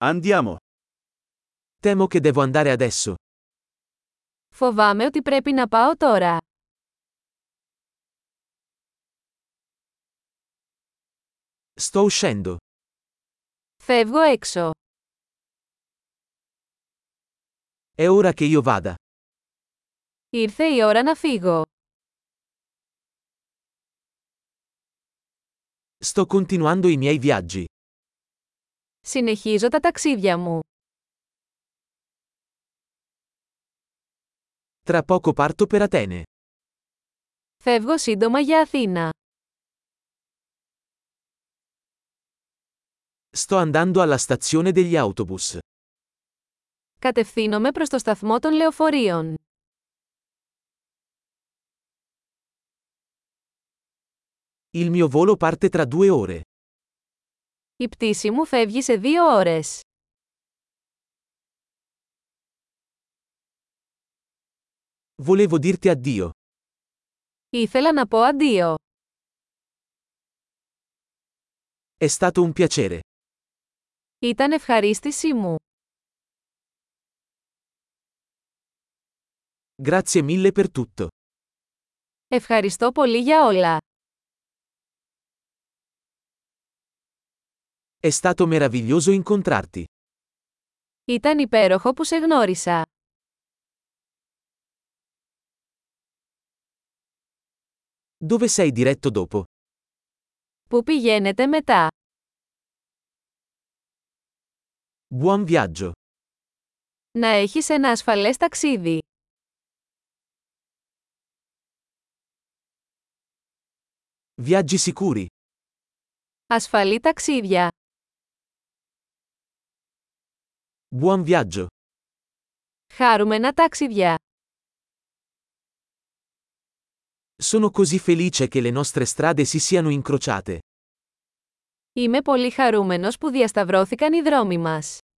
Andiamo. Temo che devo andare adesso. Φοβάμαι ότι πρέπει να πάω τώρα. Sto uscendo. Φεύγω έξω. È ora che io vada. Ήρθε η ώρα να φύγω. Sto continuando i miei viaggi. Συνεχίζω τα ταξίδια μου. Tra poco parto per Atene. Φεύγω σύντομα για Αθήνα. Sto andando alla stazione degli autobus. Κατευθύνομαι προς το σταθμό των λεωφορείων. Il mio volo parte tra 2 ore. Η πτήση μου φεύγει σε 2 ώρες. Volevo dirti addio. Ήθελα να πω αντίο. È stato un piacere. Ήταν ευχαρίστησή μου. Grazie mille per tutto. Ευχαριστώ πολύ για όλα. È stato meraviglioso incontrarti. Ήταν υπέροχο που σε γνώρισα. Dove sei diretto dopo? Πού πηγαίνετε μετά? Buon viaggio. Να έχεις ένα ασφαλές ταξίδι. Viaggi sicuri. Ασφαλή ταξίδια. Buon viaggio. Χάρουμενα ταξίδια. Sono così felice che le nostre strade si siano incrociate. Είμαι πολύ χαρούμενος που διασταυρώθηκαν οι δρόμοι μας.